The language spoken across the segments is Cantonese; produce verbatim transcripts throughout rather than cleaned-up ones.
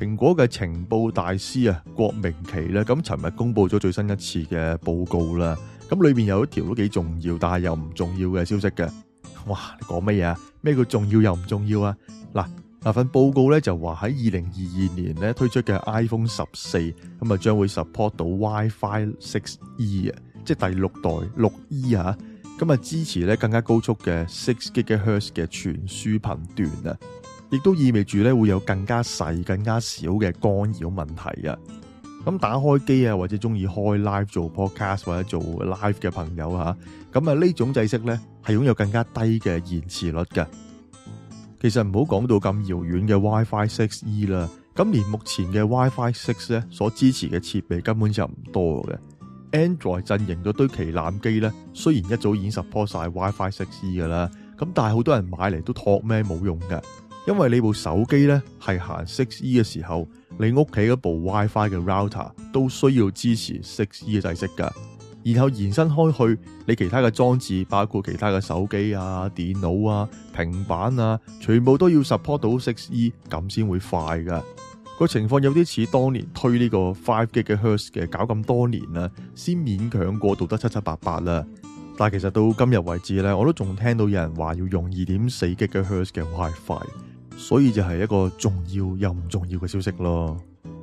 蘋果嘅情報大師啊，郭明錤咧，咁尋日公布咗最新一次嘅報告啦。咁裏面有一條都幾重要，但係又唔重要嘅消息嘅。哇，你講乜嘢啊？咩叫重要又唔重要啊？嗱，嗱份報告咧就話喺二零二二年咧推出嘅 iPhone 十四咁啊，將會 support 到 WiFi 六 E 啊，即係第六代六 E 啊。咁啊，支持咧更加高速嘅六 gigahertz 嘅傳輸頻段啊，亦都意味住咧會有更加細、更加少嘅干擾問題啊。咁打開機啊，或者中意開 live 做 podcast 或者做 live 嘅朋友吓，咁啊呢種制式咧係擁有更加低嘅延遲率嘅。其實唔好講到咁遙遠嘅 WiFi 六 E 啦，咁連目前嘅 WiFi 六咧所支持嘅設備根本就唔多嘅。Android 陣營嗰堆旗艦機咧，雖然一早已經 support 晒 WiFi 六 E 噶啦，咁但係好多人買嚟都托咩冇用嘅，因為你部手機咧係行六 E 嘅時候，你屋企嗰部 WiFi 嘅 router 都需要支持六 E 嘅制式噶，然後延伸開去，你其他嘅裝置，包括其他嘅手機啊、電腦啊、平板啊，全部都要 support 到六 E 咁先會快噶。個情況有啲似當年推呢個五 gigahertz 嘅，搞咁多年啦，先勉強過渡得七七八八啦。但係其實到今日為止咧，我都仲聽到有人話要用二點四 gigahertz 嘅 WiFi， 所以就係一個重要又唔重要嘅消息咯。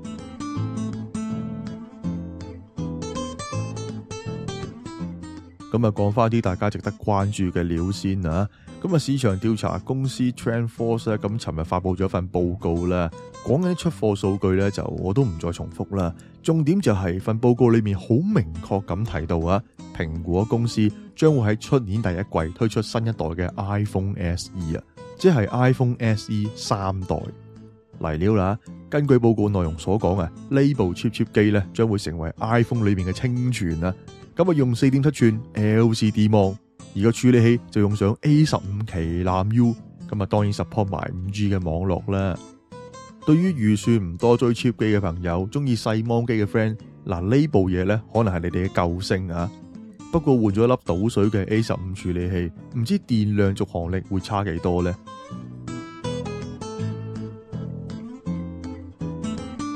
咁啊，講翻啲大家值得關注嘅料先啊。咁啊，市場調查公司 TrendForce 咧，咁尋日發佈咗份報告啦，講緊出貨數據咧，就我都唔再重複啦。重點就係份報告裏面好明確咁提到啊，蘋果公司將會喺出年第一季推出新一代嘅 iPhone S E 啊，即係 iPhone S E 三代嚟料啦。根據報告內容所講啊，呢部 Chip Chip 機咧將會成為 iPhone 裏面嘅清泉啊。咁啊，用 四點七寸 L C D 芒，而個處理器就用上 A 十五 旗艦 U， 咁啊當然 support 埋 五 G 嘅網絡啦。對於預算唔多追 cheap 機嘅朋友，中意細芒機嘅 friend， 嗱呢部嘢咧可能係你哋嘅救星啊。不過換咗粒倒水嘅 A 十五 處理器，唔知電量續航力會差幾多呢？